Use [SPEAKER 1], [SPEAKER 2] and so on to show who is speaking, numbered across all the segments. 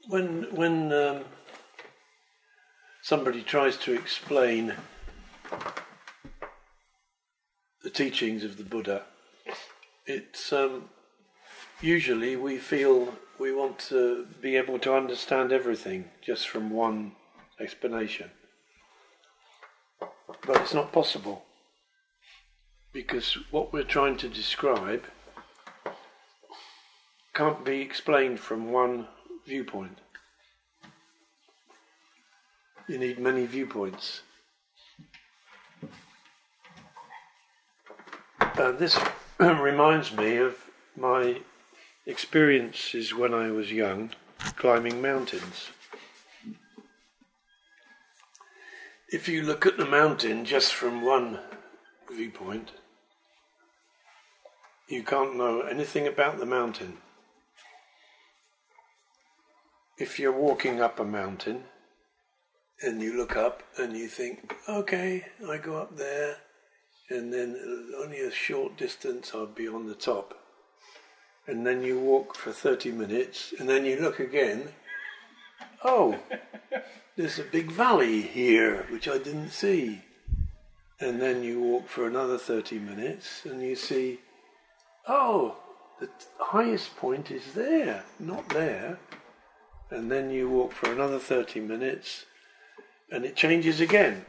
[SPEAKER 1] When somebody tries to explain the teachings of the Buddha, it's usually we feel we want to be able to understand everything just from one explanation. But it's not possible, because what we're trying to describe can't be explained from one viewpoint. You need many viewpoints. This reminds me of my experiences when I was young, climbing mountains. If you look at the mountain just from one viewpoint, you can't know anything about the mountain. If you're walking up a mountain and you look up and you think, okay, I go up there and then only a short distance I'll be on the top. And then you walk for 30 minutes and then you look again, oh, there's a big valley here which I didn't see. And then you walk for another 30 minutes and you see, oh, the highest point is there, not there. And then you walk for another 30 minutes and it changes again.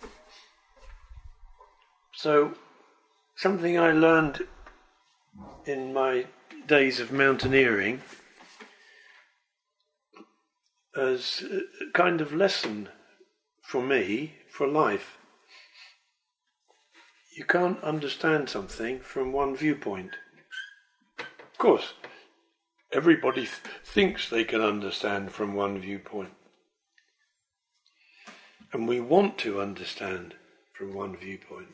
[SPEAKER 1] So, something I learned in my days of mountaineering as a kind of lesson for me, for life. You can't understand something from one viewpoint. Of course, everybody thinks they can understand from one viewpoint. And we want to understand from one viewpoint.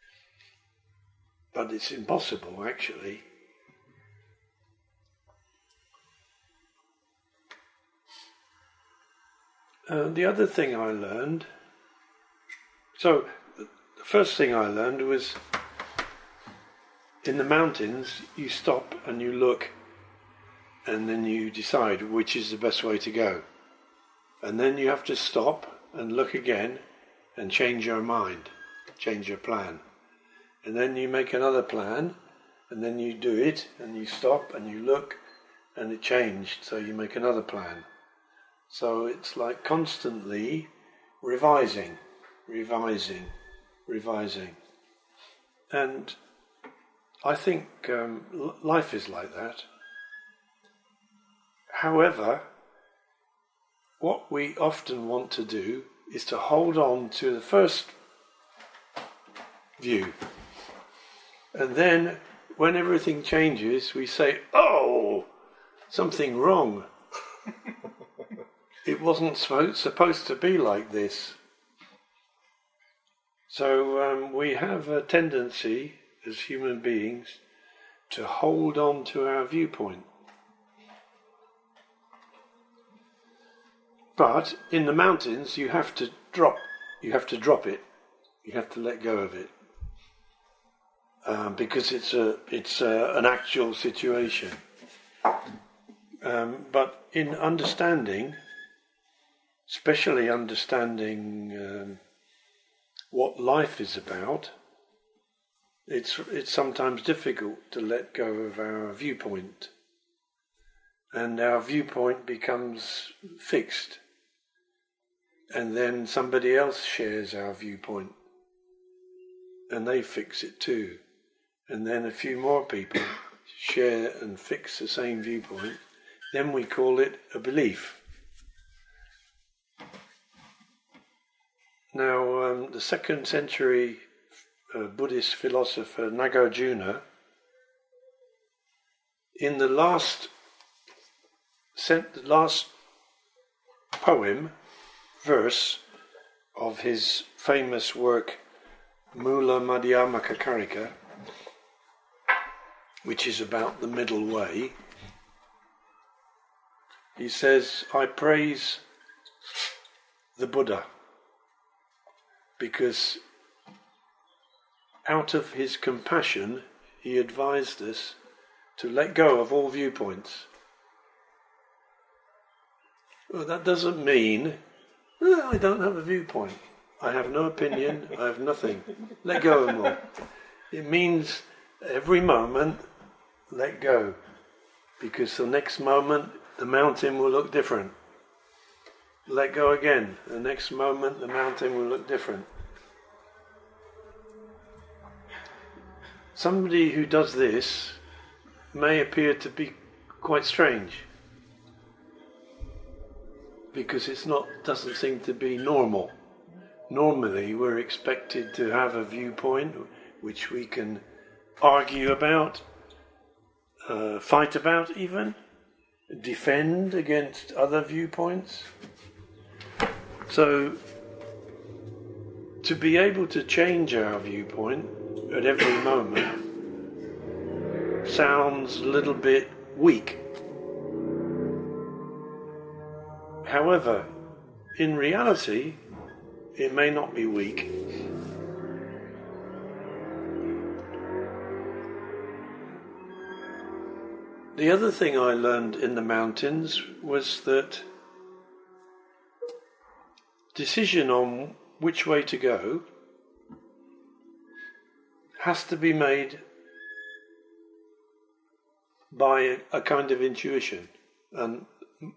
[SPEAKER 1] But it's impossible, actually. The other thing I learned, the first thing I learned was in the mountains you stop and you look and then you decide which is the best way to go. And then you have to stop and look again and change your mind, change your plan. And then you make another plan and then you do it and you stop and you look and it changed, so you make another plan. So it's like constantly revising. And I think life is like that. However, what we often want to do is to hold on to the first view. And then when everything changes, we say, oh, something wrong. It wasn't supposed to be like this. So we have a tendency as human beings to hold on to our viewpoint. But in the mountains you have to drop it. You have to let go of it. Because it's an actual situation. But in understanding, especially understanding what life is about, it's sometimes difficult to let go of our viewpoint, and our viewpoint becomes fixed, and then somebody else shares our viewpoint, and they fix it too, and then a few more people share and fix the same viewpoint. Then we call it a belief. Now, the 2nd century Buddhist philosopher Nagarjuna, in the last verse of his famous work Mula Madhyamaka Karika, which is about the middle way, he says, I praise the Buddha, because out of his compassion he advised us to let go of all viewpoints. Well, that doesn't mean I don't have a viewpoint. I have no opinion. I have nothing. Let go of them all. It means every moment, let go. Because the next moment, the mountain will look different. Let go again. The next moment, the mountain will look different. Somebody who does this may appear to be quite strange. Because doesn't seem to be normal. Normally, we're expected to have a viewpoint which we can argue about, fight about even, defend against other viewpoints. So, to be able to change our viewpoint at every moment sounds a little bit weak. However, in reality, it may not be weak. The other thing I learned in the mountains was that decision on which way to go has to be made by a kind of intuition. And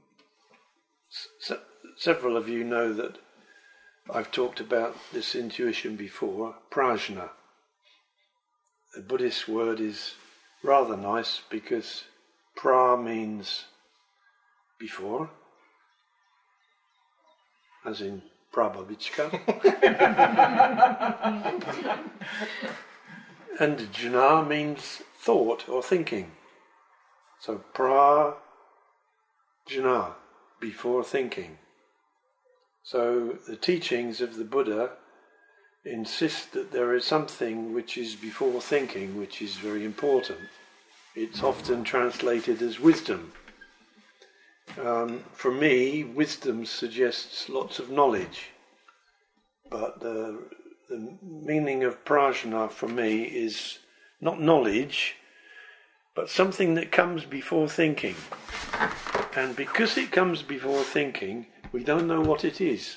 [SPEAKER 1] several of you know that I've talked about this intuition before, prajna. The Buddhist word is rather nice because pra means before, as in Prabhavichka. And jna means thought or thinking. So prajna, before thinking. So the teachings of the Buddha insist that there is something which is before thinking, which is very important. It's often translated as wisdom. For me, wisdom suggests lots of knowledge, but the meaning of prajna for me is not knowledge, but something that comes before thinking. And because it comes before thinking, we don't know what it is.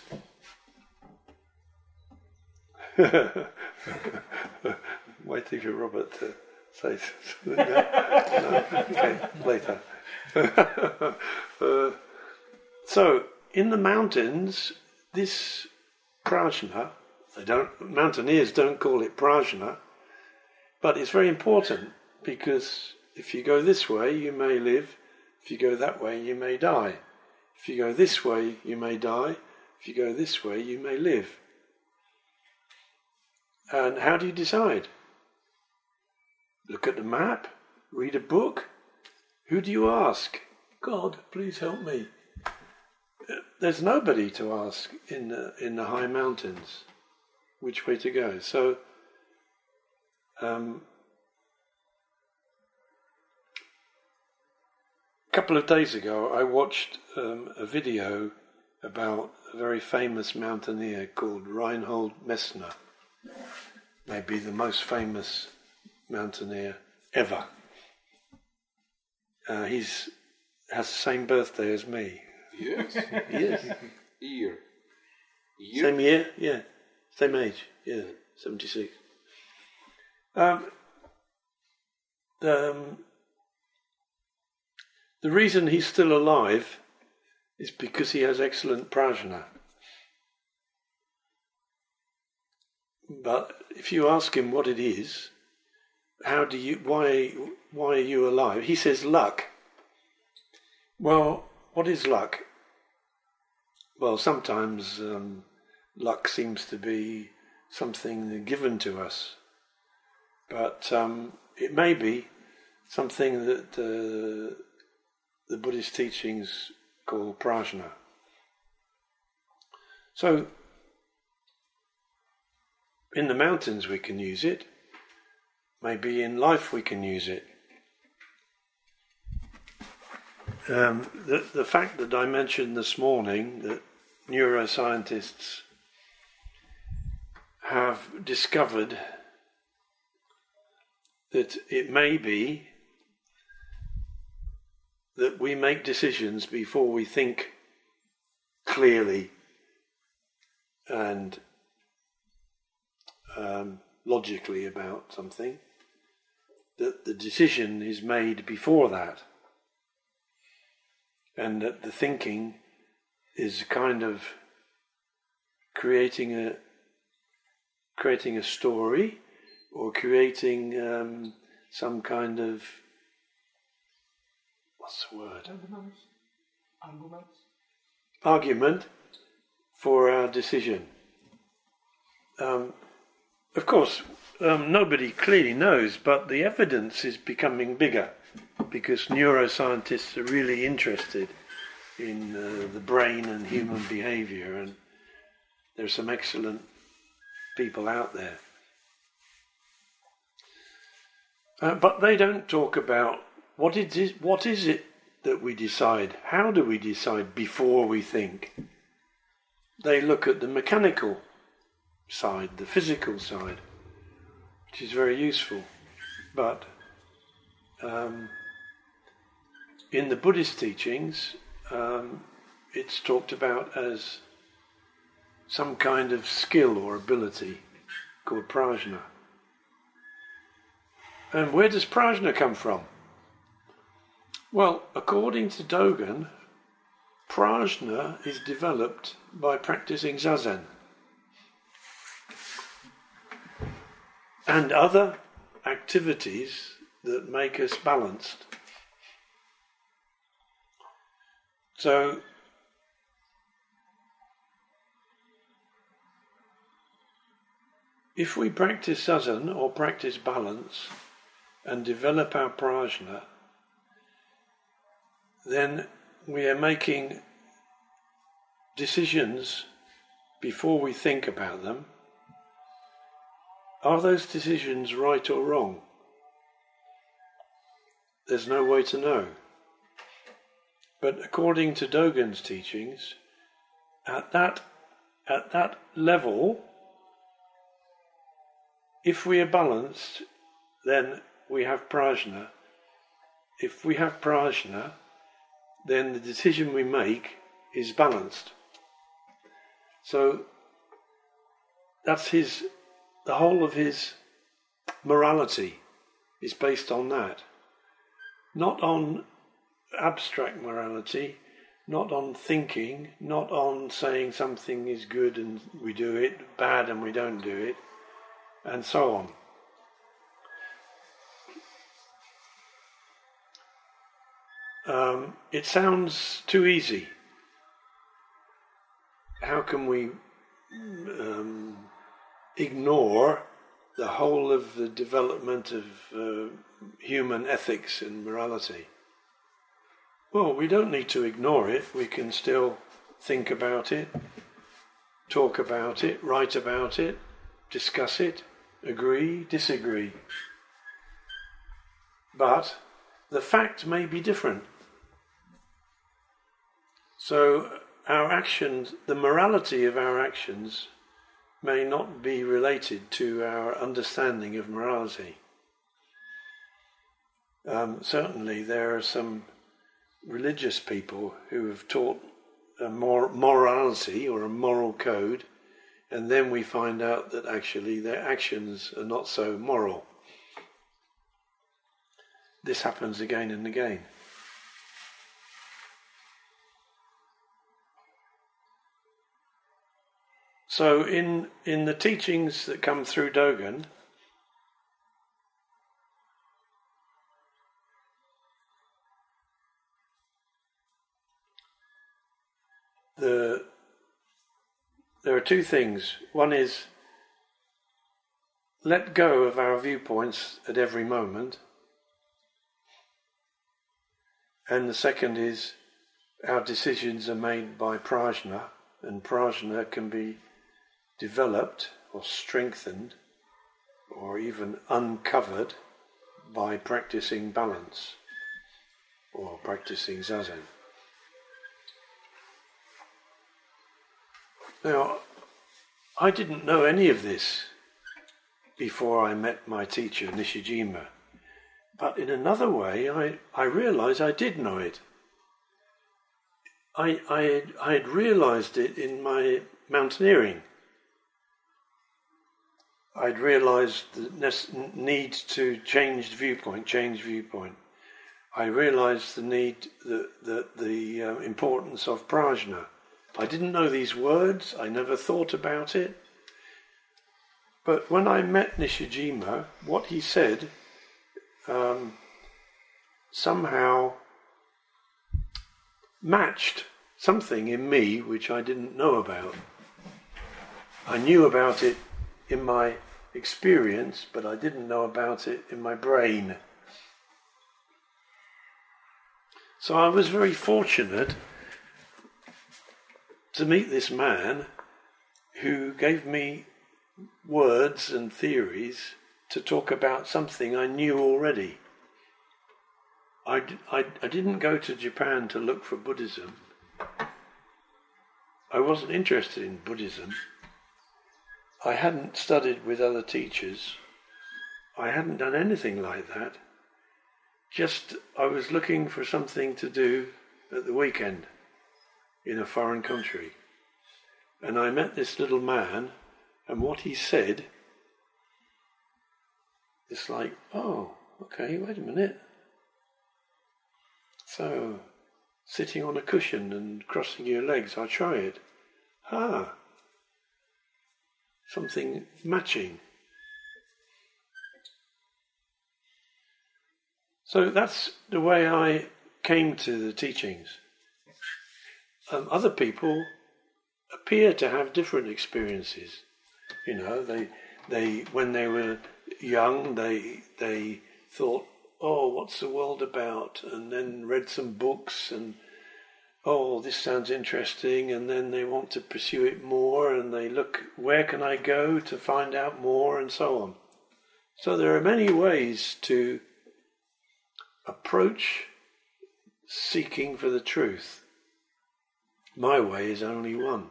[SPEAKER 1] Waiting for Robert to say something. No? Okay, later. So, in the mountains, this prajna, mountaineers don't call it prajna, but it's very important because if you go this way, you may live. If you go that way, you may die. If you go this way, you may die. If you go this way, you may live. And how do you decide? Look at the map? Read a book? Who do you ask? God, please help me. There's nobody to ask in the high mountains which way to go. So, a couple of days ago, I watched a video about a very famous mountaineer called Reinhold Messner, maybe the most famous mountaineer ever. He has the same birthday as me.
[SPEAKER 2] Yes.
[SPEAKER 1] Yes.
[SPEAKER 2] Year.
[SPEAKER 1] Same year? Yeah. Same age? Yeah. 76. The reason he's still alive is because he has excellent prajna. But if you ask him what it is, why are you alive? He says luck. Well, what is luck? Well, sometimes luck seems to be something given to us. But it may be something that the Buddhist teachings call prajna. So, in the mountains we can use it. Maybe in life we can use it. The fact that I mentioned this morning that neuroscientists have discovered that it may be that we make decisions before we think clearly and logically about something, that the decision is made before that, and that the thinking is kind of creating a story, or creating some kind of, what's the word? Argument for our decision. Of course, nobody clearly knows, but the evidence is becoming bigger because neuroscientists are really interested in the brain and human behavior, and there's some excellent people out there. But they don't talk about what is it that we decide. How do we decide before we think? They look at the mechanical side, the physical side, which is very useful. But in the Buddhist teachings, it's talked about as some kind of skill or ability called prajna. And where does prajna come from? Well, according to Dogen, prajna is developed by practicing zazen and other activities that make us balanced. So, if we practice zazen or practice balance and develop our prajna, then we are making decisions before we think about them. Are those decisions right or wrong? There's no way to know. But according to Dogen's teachings, at that level, if we are balanced, then we have prajna. If we have prajna, then the decision we make is balanced. So that's the whole of his morality is based on that. Not on abstract morality, not on thinking, not on saying something is good and we do it, bad and we don't do it, and so on. It sounds too easy. How can we ignore the whole of the development of human ethics and morality? Well, we don't need to ignore it. We can still think about it, talk about it, write about it, discuss it, agree, disagree. But the fact may be different. So our actions, the morality of our actions, may not be related to our understanding of morality. Certainly there are some religious people who have taught a morality or a moral code, and then we find out that actually their actions are not so moral. This happens again and again. So in the teachings that come through Dogen, there are two things. One is let go of our viewpoints at every moment. And the second is our decisions are made by prajna, and prajna can be developed or strengthened or even uncovered by practicing balance or practicing zazen. Now, I didn't know any of this before I met my teacher Nishijima, but in another way I realized I did know it. I had realised it in my mountaineering. I'd realised the need to change viewpoint. I realised the need, the importance of prajna. I didn't know these words. I never thought about it. But when I met Nishijima, what he said somehow matched something in me which I didn't know about. I knew about it in my experience, but I didn't know about it in my brain. So I was very fortunate to meet this man who gave me words and theories to talk about something I knew already. I didn't go to Japan to look for Buddhism. I wasn't interested in Buddhism. I hadn't studied with other teachers. I hadn't done anything like that. Just I was looking for something to do at the weekend in a foreign country. And I met this little man, and what he said, it's like, oh, okay, wait a minute. So, sitting on a cushion and crossing your legs, I'll try it. Something matching. So that's the way I came to the teachings. Other people appear to have different experiences. You know, they when they were young, they thought, oh, what's the world about? And then read some books and, oh, this sounds interesting. And then they want to pursue it more and they look, where can I go to find out more, and so on. So there are many ways to approach seeking for the truth. My way is only one.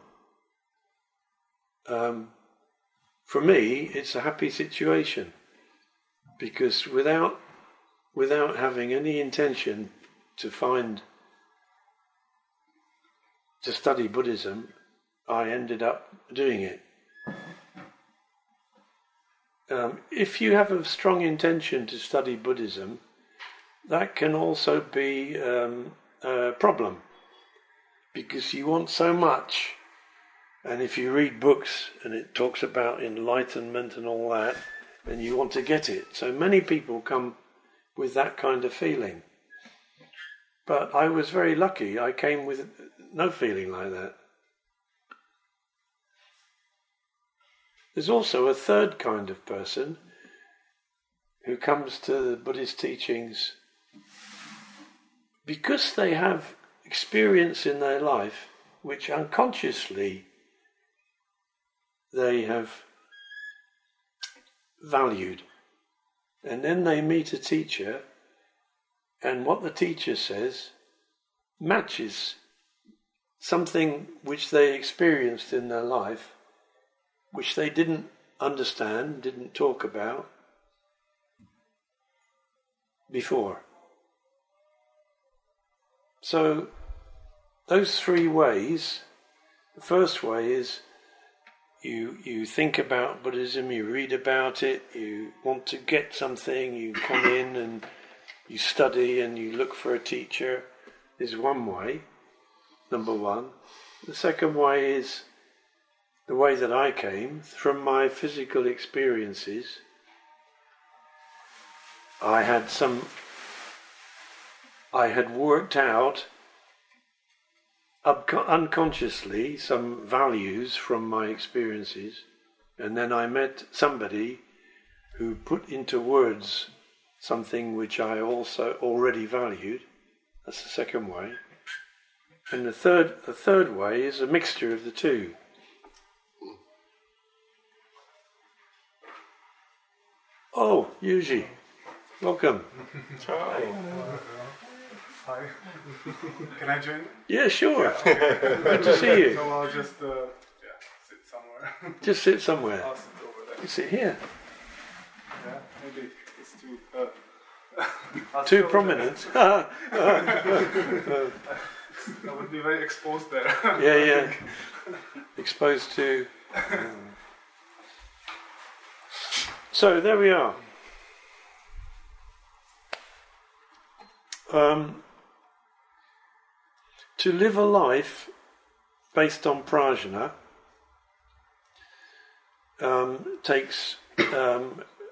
[SPEAKER 1] For me, it's a happy situation, because without having any intention to study Buddhism, I ended up doing it. If you have a strong intention to study Buddhism, that can also be a problem, because you want so much, and if you read books and it talks about enlightenment and all that, then you want to get it. So many people come with that kind of feeling. But I was very lucky. I came with no feeling like that. There's also a third kind of person who comes to the Buddhist teachings because they have experience in their life which unconsciously they have valued. And then they meet a teacher, and what the teacher says matches something which they experienced in their life, which they didn't understand, didn't talk about before. So those three ways, the first way is you think about Buddhism, you read about it, you want to get something, you come in and you study and you look for a teacher, is one way, number one. The second way is the way that I came from my physical experiences. I had worked out unconsciously some values from my experiences, and then I met somebody who put into words something which I also already valued. That's the second way. And the third way is a mixture of the two. Oh, Yuji, welcome.
[SPEAKER 2] Hi. Can I join?
[SPEAKER 1] Yeah, sure.
[SPEAKER 2] Yeah, okay.
[SPEAKER 1] Good to see you.
[SPEAKER 2] So I'll just sit somewhere.
[SPEAKER 1] Just sit somewhere.
[SPEAKER 2] I'll sit over there.
[SPEAKER 1] You sit here.
[SPEAKER 2] Yeah, maybe it's too
[SPEAKER 1] Too prominent.
[SPEAKER 2] I would be very exposed there.
[SPEAKER 1] Yeah. Exposed to. So there we are. To live a life based on prajna takes a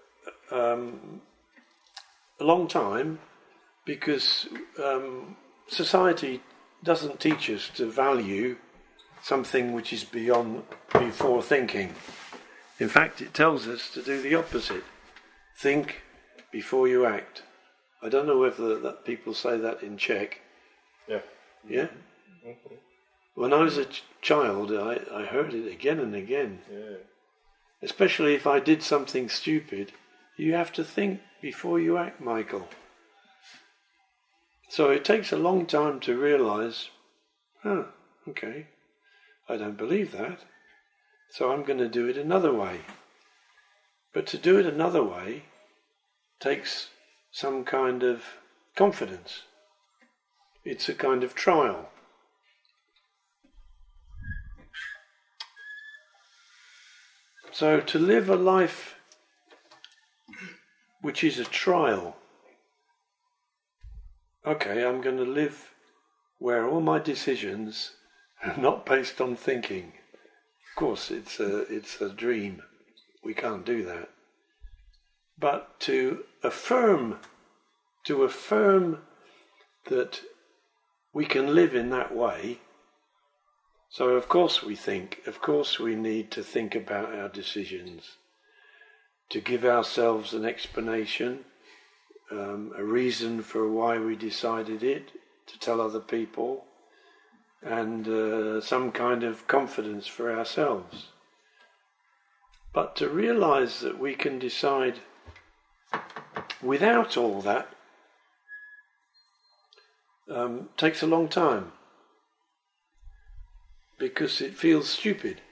[SPEAKER 1] long time, because society doesn't teach us to value something which is before thinking. In fact, it tells us to do the opposite. Think before you act. I don't know whether that people say that in Czech.
[SPEAKER 3] Yeah.
[SPEAKER 1] Yeah? Mm-hmm. When I was a child, I heard it again and again.
[SPEAKER 3] Yeah.
[SPEAKER 1] Especially if I did something stupid. You have to think before you act, Michael. So it takes a long time to realise, okay, I don't believe that, so I'm going to do it another way. But to do it another way takes some kind of confidence. It's a kind of trial. So to live a life which is a trial, okay, I'm going to live where all my decisions are not based on thinking. Of course, it's a dream. We can't do that. But to affirm that we can live in that way. So of course we think. Of course we need to think about our decisions, to give ourselves an explanation. A reason for why we decided it, to tell other people, and some kind of confidence for ourselves. But to realise that we can decide without all that takes a long time, because it feels stupid.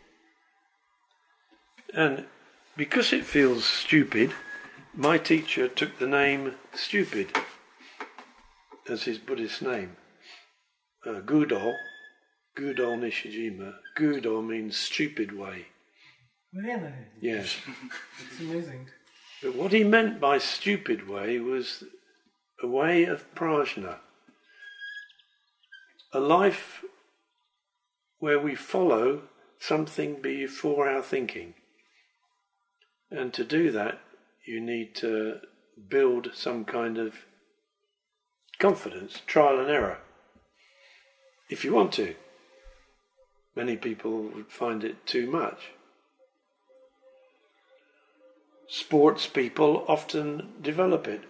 [SPEAKER 1] And because it feels stupid, my teacher took the name Stupid as his Buddhist name. Gudo Nishijima. Gudo means stupid way.
[SPEAKER 4] Really?
[SPEAKER 1] Yes.
[SPEAKER 4] It's amazing.
[SPEAKER 1] But what he meant by stupid way was a way of prajna. A life where we follow something before our thinking. And to do that, you need to build some kind of confidence, trial and error, if you want to. Many people would find it too much. Sports people often develop it.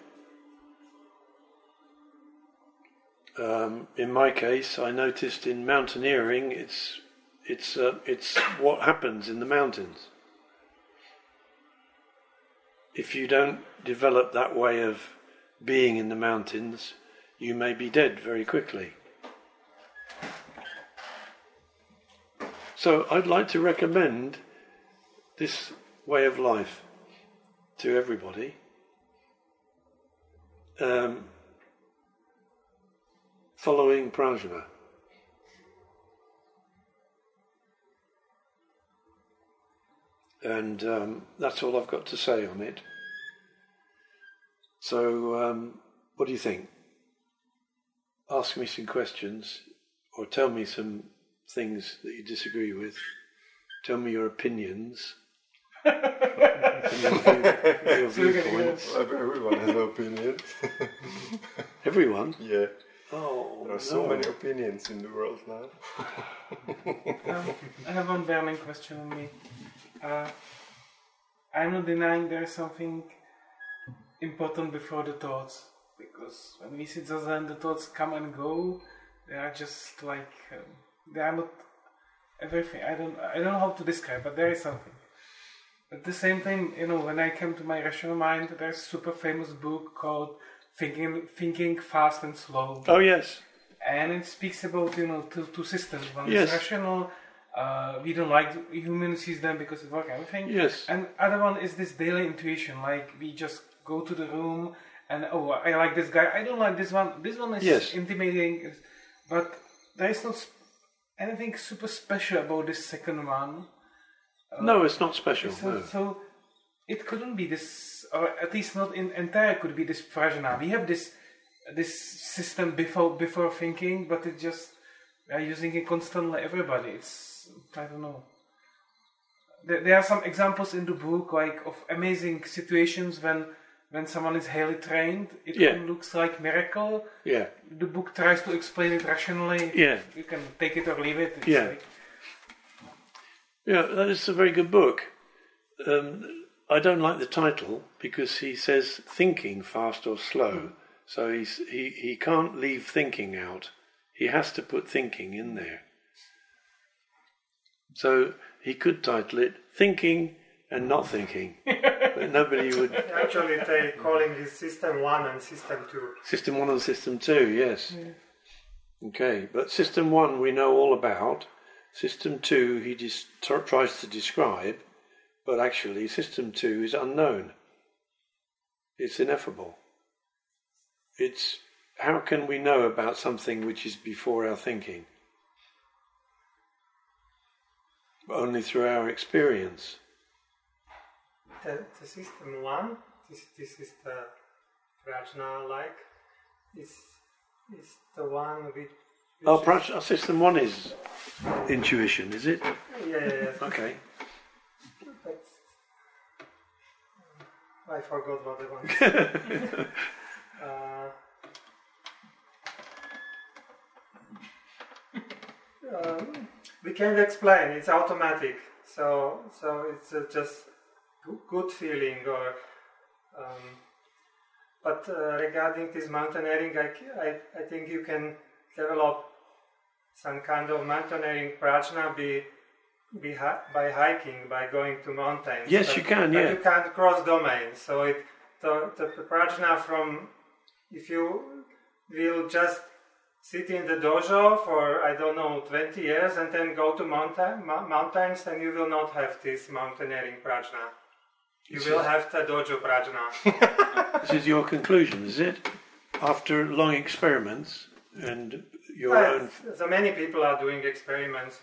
[SPEAKER 1] In my case, I noticed in mountaineering, it's what happens in the mountains. If you don't develop that way of being in the mountains, you may be dead very quickly. So I'd like to recommend this way of life to everybody. Following prajna. And that's all I've got to say on it. So, what do you think? Ask me some questions, or tell me some things that you disagree with. Tell me your opinions. your viewpoints.
[SPEAKER 3] Everyone has opinions.
[SPEAKER 1] Everyone?
[SPEAKER 3] Yeah.
[SPEAKER 1] Oh,
[SPEAKER 3] there are so many opinions in the world now.
[SPEAKER 4] I have one burning question on me. I'm not denying there is something important before the thoughts, because when we sit Zazen, the thoughts come and go. They are just like they are not everything. I don't know how to describe, but there is something. At the same time, when I came to my rational mind, there's a super famous book called Thinking Fast and Slow.
[SPEAKER 1] Oh yes.
[SPEAKER 4] And it speaks about two systems. One
[SPEAKER 1] yes.
[SPEAKER 4] is rational. We don't like human system because it works everything.
[SPEAKER 1] Yes.
[SPEAKER 4] And other one is this daily intuition. Like we just go to the room and I like this guy. I don't like this one. This one is
[SPEAKER 1] yes.
[SPEAKER 4] intimidating. But there is not anything super special about this second one.
[SPEAKER 1] No, it's not special. No.
[SPEAKER 4] So it couldn't be this, or at least not in entire could be this prajna. We have this system before thinking, but it just we are using it constantly. Everybody, it's I don't know. There are some examples in the book, like of amazing situations when someone is highly trained. It looks like miracle.
[SPEAKER 1] Yeah.
[SPEAKER 4] The book tries to explain it rationally.
[SPEAKER 1] Yeah.
[SPEAKER 4] You can take it or leave it. It's like,
[SPEAKER 1] yeah, that is a very good book. I don't like the title because he says thinking fast or slow. So he can't leave thinking out. He has to put thinking in there. So he could title it Thinking and Not Thinking. But nobody would...
[SPEAKER 5] Actually, they're calling it System 1 and System 2.
[SPEAKER 1] System 1 and System 2, yes. Yeah. Okay, but System 1 we know all about. System 2 he just tries to describe, but actually System 2 is unknown. It's ineffable. It's how can we know about something which is before our thinking? Only through our experience.
[SPEAKER 5] The System 1, this is the prajna-like, is the one which
[SPEAKER 1] System 1 is intuition, is it?
[SPEAKER 5] Yeah.
[SPEAKER 1] Okay.
[SPEAKER 5] But I forgot what I wanted to say. We can't explain. It's automatic. So it's just good feeling. Or but regarding this mountaineering, I think you can develop some kind of mountaineering prajna by hiking, by going to mountains.
[SPEAKER 1] Yes, you can.
[SPEAKER 5] But
[SPEAKER 1] Yeah.
[SPEAKER 5] you can't cross domains. So the prajna from if you will just sit in the dojo for, 20 years and then go to mountains, then you will not have this mountaineering prajna. You will have the dojo prajna.
[SPEAKER 1] This is your conclusion, is it? After long experiments and your own...
[SPEAKER 5] So many people are doing experiments.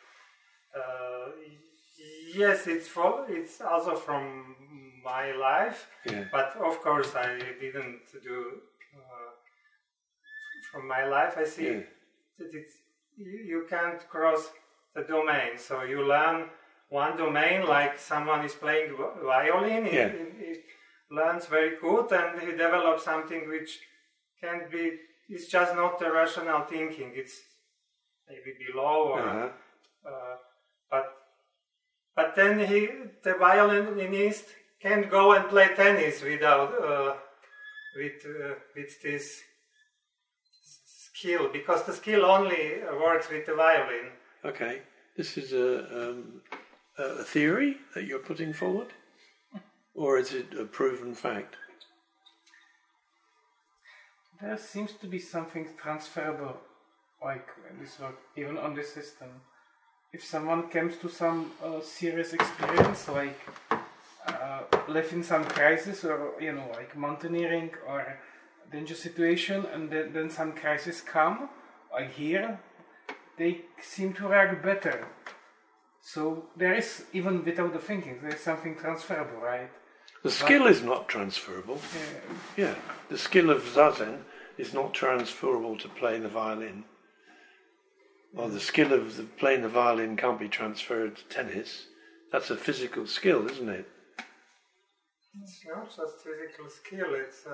[SPEAKER 5] Yes, it's also from my life, but of course I didn't do... From my life, I see that you can't cross the domain. So you learn one domain, like someone is playing violin. He learns very good, and he develops something which can be. It's just not the rational thinking. It's maybe below, or but then the violinist can't go and play tennis without with this skill, because the skill only works with the violin.
[SPEAKER 1] Okay, this is a theory that you're putting forward, or is it a proven fact?
[SPEAKER 4] There seems to be something transferable, like in this work, even on this system. If someone comes to some serious experience, like live in some crisis, or like mountaineering or danger situation, and then some crisis come, like here, they seem to react better. So there is, even without the thinking, there is something transferable, right?
[SPEAKER 1] The skill is not transferable. Yeah, the skill of zazen is not transferable to playing the violin. Or the skill of playing the violin can't be transferred to tennis. That's a physical skill, isn't it?
[SPEAKER 5] It's not just physical skill,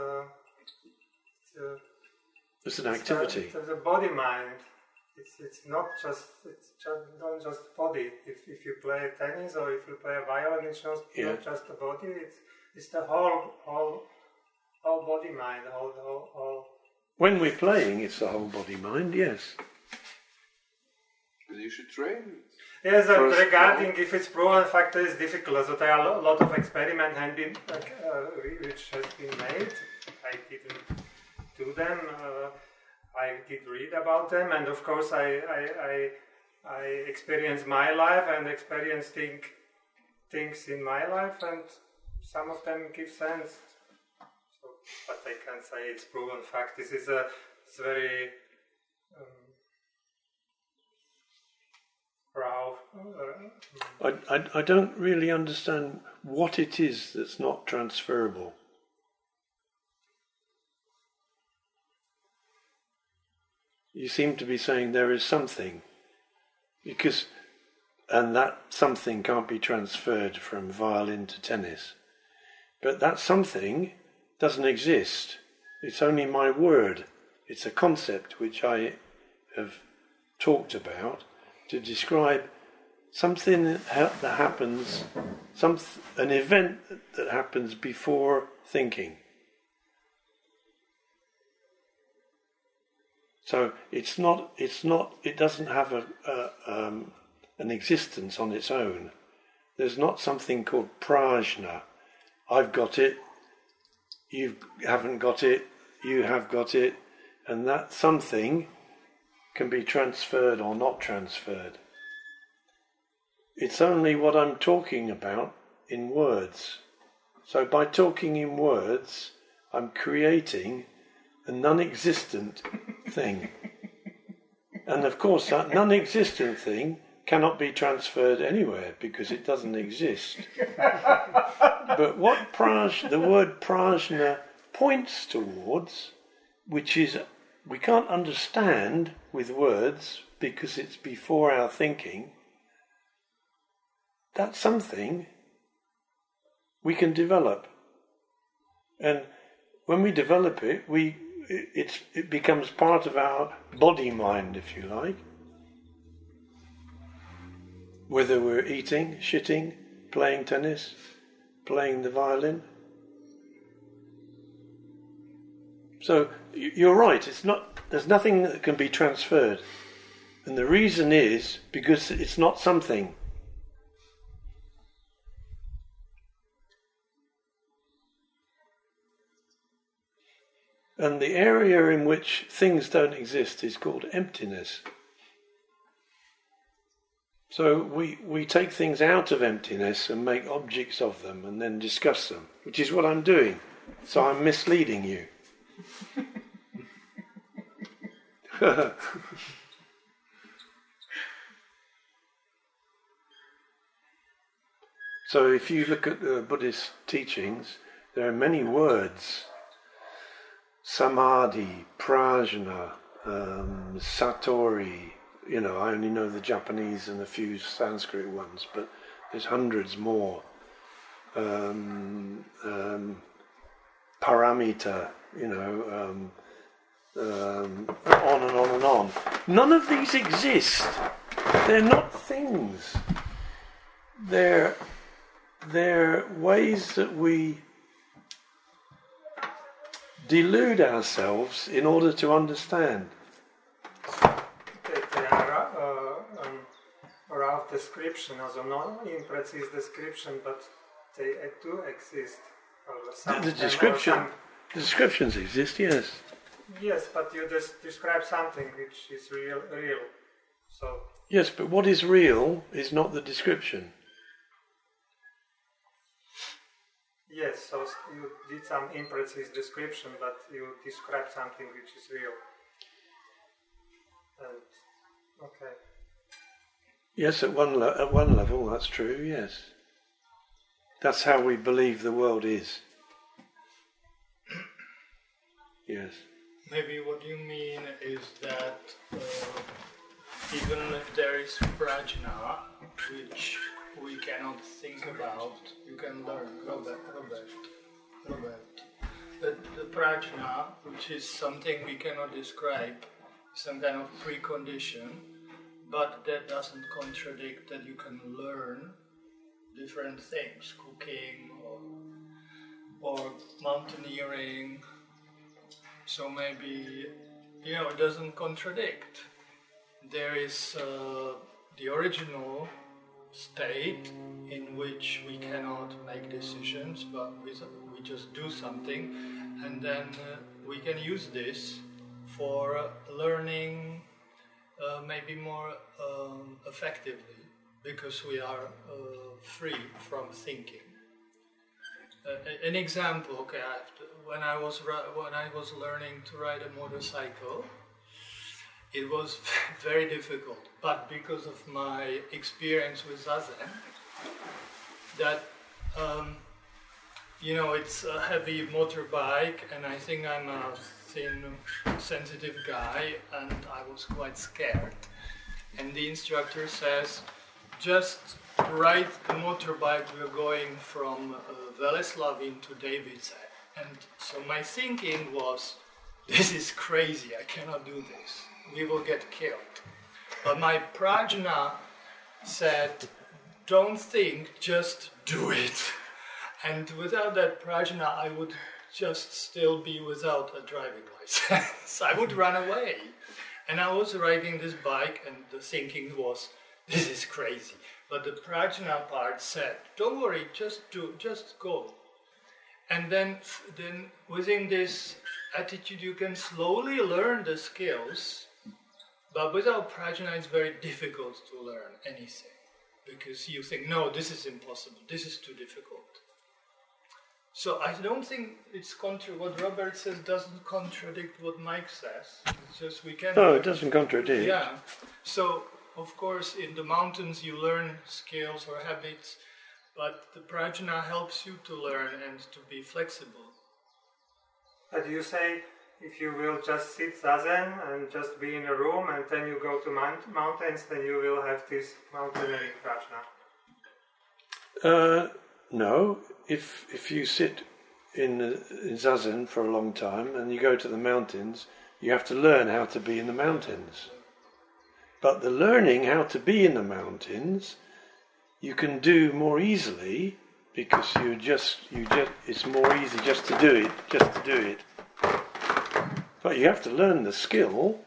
[SPEAKER 1] it's an activity.
[SPEAKER 5] It's a body mind. It's not just body. If you play tennis or if you play a violin, it's not just the body. It's the whole body mind. Whole.
[SPEAKER 1] When we're playing, it's the whole body mind. Yes.
[SPEAKER 3] But you should train.
[SPEAKER 5] Yes, regarding if it's proven factor is difficult. So there are a lot of experiments which has been made. I didn't do them. I did read about them, and of course I experienced my life and experienced things in my life, and some of them give sense. So, but I can't say it's proven fact. This is it's very
[SPEAKER 1] I don't really understand what it is that's not transferable. You seem to be saying there is something, and that something can't be transferred from violin to tennis. But that something doesn't exist. It's only my word. It's a concept which I have talked about to describe something that happens, an event that happens before thinking. So it doesn't have an existence on its own. There's not something called prajna. I've got it, you haven't got it, you have got it, and that something can be transferred or not transferred. It's only what I'm talking about in words. So by talking in words, I'm creating a non-existent thing. And of course that non-existent thing cannot be transferred anywhere because it doesn't exist. But what the word prajna points towards, which is we can't understand with words because it's before our thinking, that's something we can develop. And when we develop it, it becomes part of our body-mind, if you like. Whether we're eating, shitting, playing tennis, playing the violin. So you're right, there's nothing that can be transferred. And the reason is because it's not something. And the area in which things don't exist is called emptiness. So we take things out of emptiness and make objects of them and then discuss them, which is what I'm doing. So I'm misleading you. So if you look at the Buddhist teachings, there are many words. Samadhi, prajna, satori. I only know the Japanese and a few Sanskrit ones, but there's hundreds more. Paramita, on and on and on. None of these exist. They're not things. They're ways that we delude ourselves in order to understand.
[SPEAKER 5] They are rough description, also not imprecise description, but they do exist.
[SPEAKER 1] The descriptions exist, yes.
[SPEAKER 5] Yes, but you just describe something which is real. So.
[SPEAKER 1] Yes, but what is real is not the description.
[SPEAKER 5] Yes, so you did some imprecise description, but you described something which is real. And, okay.
[SPEAKER 1] Yes, at one level, that's true, yes. That's how we believe the world is. Yes.
[SPEAKER 6] Maybe what you mean is that even if there is prajna, which we cannot think about, you can learn. Robert. The prajna, which is something we cannot describe, some kind of precondition, but that doesn't contradict that you can learn different things, cooking or mountaineering. So maybe, it doesn't contradict. There is the original state in which we cannot make decisions, but we just do something, and then we can use this for learning maybe more effectively, because we are free from thinking. An example, when I was learning to ride a motorcycle, it was very difficult. But because of my experience with Zazen, that it's a heavy motorbike, and I think I'm a thin, sensitive guy, and I was quite scared. And the instructor says, just ride the motorbike, we're going from Veleslavin to Davidze. And so my thinking was, this is crazy, I cannot do this. We will get killed. But my prajna said, don't think, just do it. And without that prajna, I would just still be without a driving license. I would run away. And I was riding this bike, and the thinking was, this is crazy. But the prajna part said, don't worry, just go. And then within this attitude, you can slowly learn the skills. But without prajna, it's very difficult to learn anything. Because you think, no, this is impossible, this is too difficult. So I don't think it's what Robert says doesn't contradict what Mike says. It's just we can.
[SPEAKER 1] No, it doesn't contradict.
[SPEAKER 6] Yeah. So of course in the mountains you learn skills or habits, but the prajna helps you to learn and to be flexible.
[SPEAKER 5] But you say if you will just sit zazen and just be in a room and then you go to mountains, then you will have this mountaineering prajna.
[SPEAKER 1] No. If you sit in zazen for a long time and you go to the mountains, you have to learn how to be in the mountains. But the learning how to be in the mountains, you can do more easily because it's more easy just to do it. But you have to learn the skill.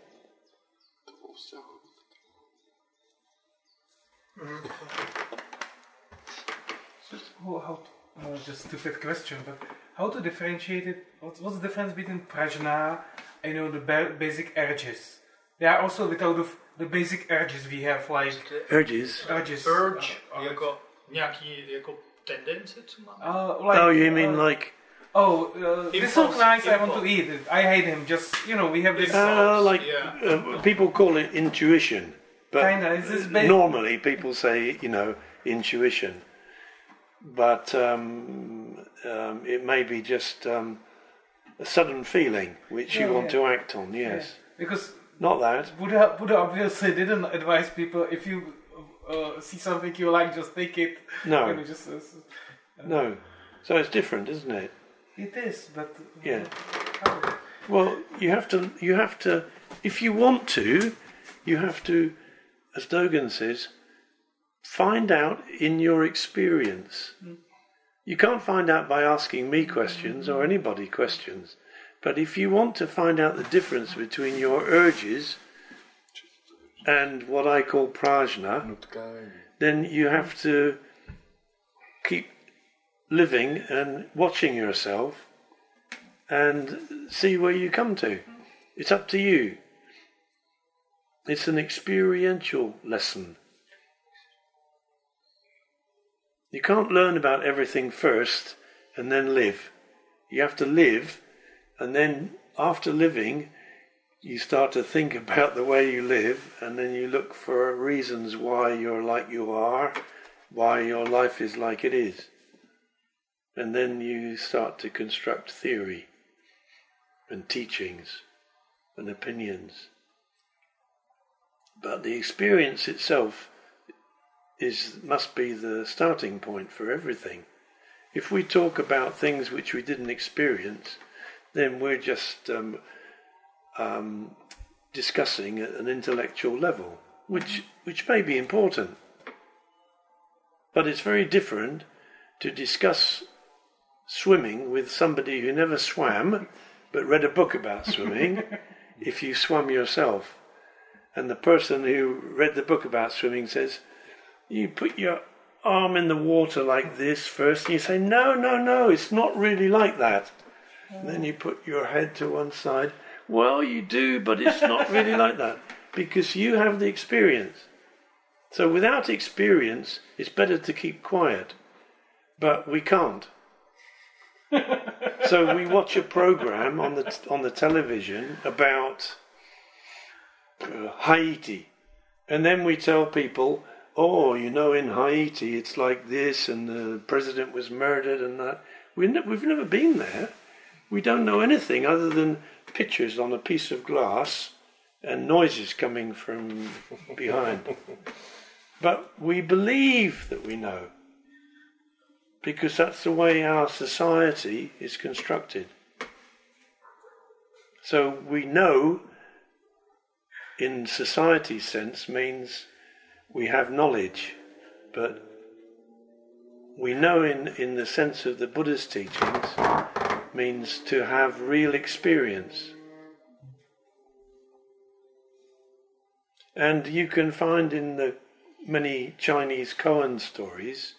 [SPEAKER 4] Just a stupid question, but how to differentiate it? What's the difference between prajna and the basic urges? There are also the basic urges we have, like
[SPEAKER 1] Urges.
[SPEAKER 6] Urge jako tendence, co máme?
[SPEAKER 1] Oh, you mean like...
[SPEAKER 4] this looks nice, I want to eat it. I hate him, just, we have this...
[SPEAKER 1] people call it intuition. But
[SPEAKER 4] Kinda, is this
[SPEAKER 1] normally people say, intuition. But it may be just a sudden feeling which you want to act on, yes.
[SPEAKER 4] Yeah. Because
[SPEAKER 1] not that.
[SPEAKER 4] Buddha obviously didn't advise people, if you see something you like, just take it.
[SPEAKER 1] No. No. So it's different, isn't it?
[SPEAKER 4] It is, but...
[SPEAKER 1] Yeah. Well, you have to, if you want to, you have to, as Dogen says, find out in your experience. You can't find out by asking me questions or anybody questions. But if you want to find out the difference between your urges and what I call prajna, then you have to keep living and watching yourself and see where you come to. It's up to you. It's an experiential lesson. You can't learn about everything first and then live. You have to live, and then after living, you start to think about the way you live, and then you look for reasons why you're like you are, why your life is like it is. And then you start to construct theory and teachings and opinions. But the experience itself must be the starting point for everything. If we talk about things which we didn't experience, then we're just discussing at an intellectual level, which may be important. But it's very different to discuss swimming with somebody who never swam, but read a book about swimming, if you swam yourself. And the person who read the book about swimming says, you put your arm in the water like this first, and you say, no, it's not really like that. And then you put your head to one side. Well, you do, but it's not really like that, because you have the experience. So without experience, it's better to keep quiet. But we can't. So we watch a program on the television about Haiti. And then we tell people, oh, you know, in Haiti it's like this and the president was murdered and that. We've never been there. We don't know anything other than pictures on a piece of glass and noises coming from behind. But we believe that we know, because that's the way our society is constructed. So we know, in society's sense, means we have knowledge, but we know in the sense of the Buddha's teachings means to have real experience. And you can find in the many Chinese koan stories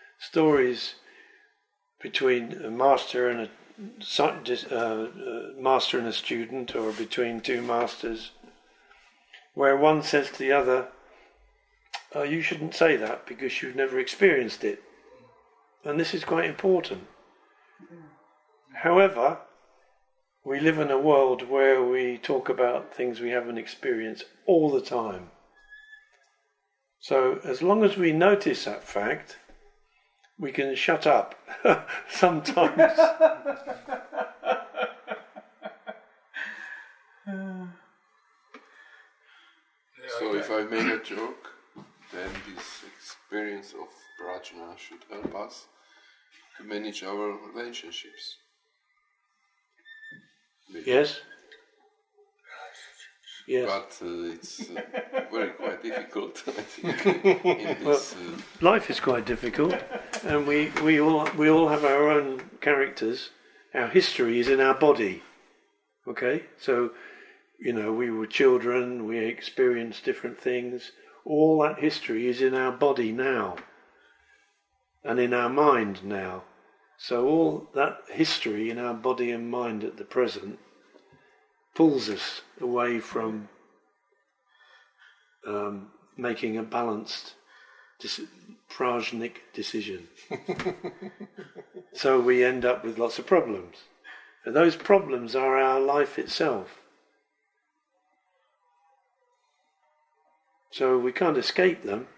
[SPEAKER 1] between a master and a student, or between two masters, where one says to the other, oh, you shouldn't say that because you've never experienced it. And this is quite important. However, we live in a world where we talk about things we haven't experienced all the time. So as long as we notice that fact, we can shut up sometimes.
[SPEAKER 3] So if I make a joke, then this experience of prajna should help us to manage our relationships.
[SPEAKER 1] Yes? Yes.
[SPEAKER 3] But it's very quite difficult, I think. In this,
[SPEAKER 1] life is quite difficult, and we all have our own characters. Our history is in our body. Okay? So, you know, we were children, we experienced different things. All that history is in our body now, and in our mind now. So all that history in our body and mind at the present pulls us away from making a balanced prajnic decision. So we end up with lots of problems. And those problems are our life itself. So we can't escape them.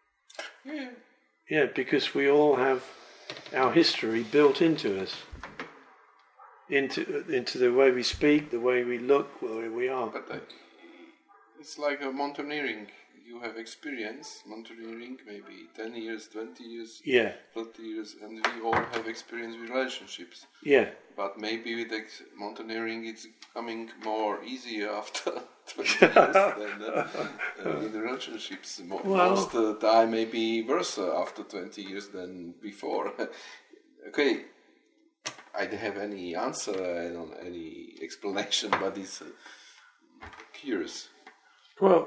[SPEAKER 1] Yeah, because we all have our history built into us. Into the way we speak, the way we look, the way we are.
[SPEAKER 3] But it's like a mountaineering. You have experience mountaineering, maybe 10 years, 20 years,
[SPEAKER 1] Yeah.
[SPEAKER 3] 30 years, and we all have experience with relationships.
[SPEAKER 1] Yeah.
[SPEAKER 3] But maybe with mountaineering it's becoming more easier after 20 years than in the relationships. Most of the time maybe worse after 20 years than before. Okay, I don't have any answer, I don't have any explanation, but it's curious.
[SPEAKER 1] Well,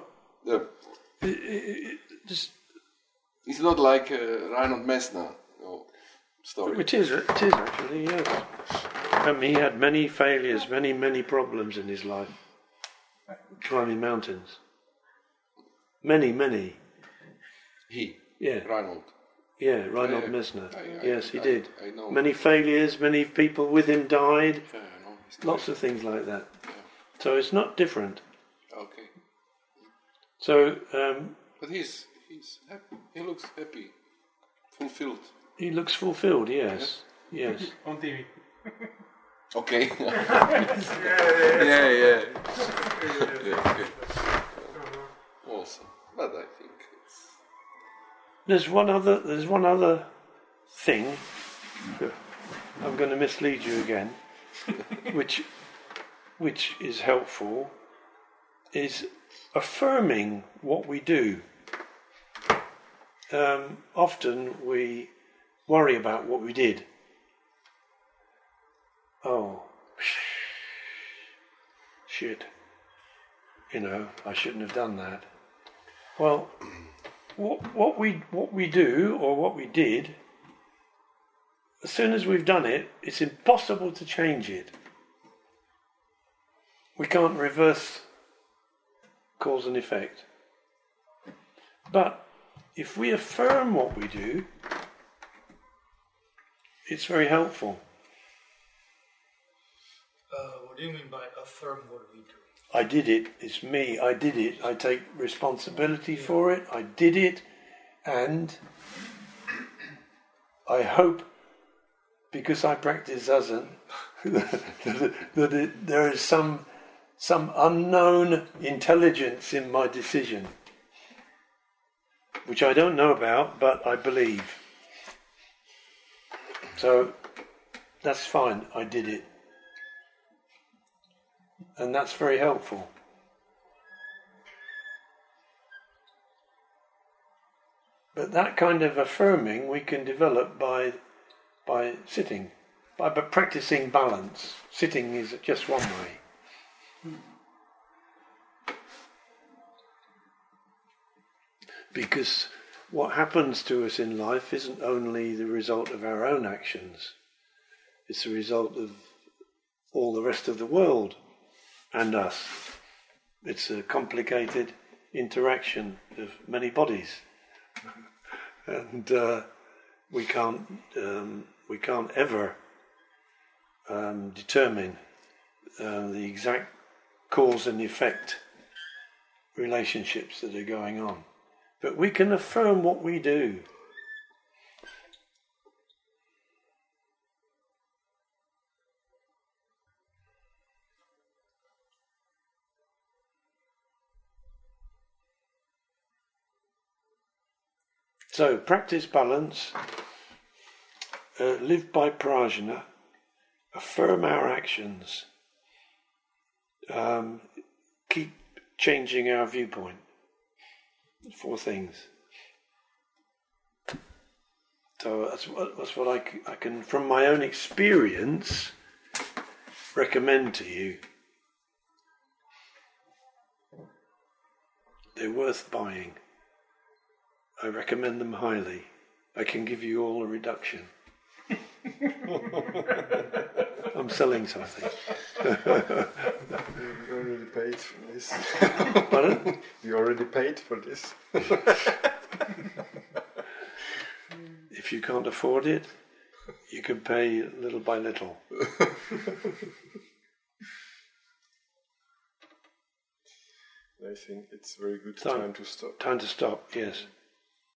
[SPEAKER 3] It's not like Reinhold Messner story.
[SPEAKER 1] it is actually, yes. He had many failures, many problems in his life. Climbing mountains. Many. Yeah.
[SPEAKER 3] Reinhold.
[SPEAKER 1] Yeah, Reinhold
[SPEAKER 3] Yeah,
[SPEAKER 1] Messner.
[SPEAKER 3] I-
[SPEAKER 1] Yes, he did.
[SPEAKER 3] I know.
[SPEAKER 1] Many failures, many people with him died.
[SPEAKER 3] Yeah, I know.
[SPEAKER 1] Lots of things like that. So it's not different.
[SPEAKER 3] Okay.
[SPEAKER 1] So
[SPEAKER 3] But he's happy. He looks happy, fulfilled.
[SPEAKER 1] he looks fulfilled, yes. Yes.
[SPEAKER 4] On TV.
[SPEAKER 3] Okay.
[SPEAKER 5] Yeah.
[SPEAKER 3] yeah. Okay. Awesome. But I think it's
[SPEAKER 1] There's one other thing. I'm going to mislead you again, which is helpful, is affirming what we do. Often we worry about what we did. Oh, shit. You know, I shouldn't have done that. Well, what we do or what we did, as soon as we've done it, it's impossible to change it. We can't reverse cause and effect. But if we affirm what we do, it's very helpful.
[SPEAKER 6] What do you mean by affirm what we do?
[SPEAKER 1] I did it. It's me. I did it. I take responsibility for it. I did it, and I hope, because I practice Zazen, that there is some unknown intelligence in my decision, which I don't know about, but I believe. So that's fine. I did it. And that's very helpful. But that kind of affirming we can develop by sitting, by practicing balance. Sitting is just one way. Because what happens to us in life isn't only the result of our own actions, it's the result of all the rest of the world and us. It's a complicated interaction of many bodies, and we can't ever determine the exact cause and effect relationships that are going on. But we can affirm what we do. So, practice balance, live by prajna, affirm our actions, keep changing our viewpoint. 4 things. So that's what I can, from my own experience, recommend to you. They're worth buying. I recommend them highly. I can give you all a reduction. I'm selling something.
[SPEAKER 7] You already paid for this.
[SPEAKER 1] Pardon?
[SPEAKER 7] You already paid for this.
[SPEAKER 1] If you can't afford it, you can pay little by little.
[SPEAKER 7] I think it's a very good time to stop.
[SPEAKER 1] Time to stop, yes.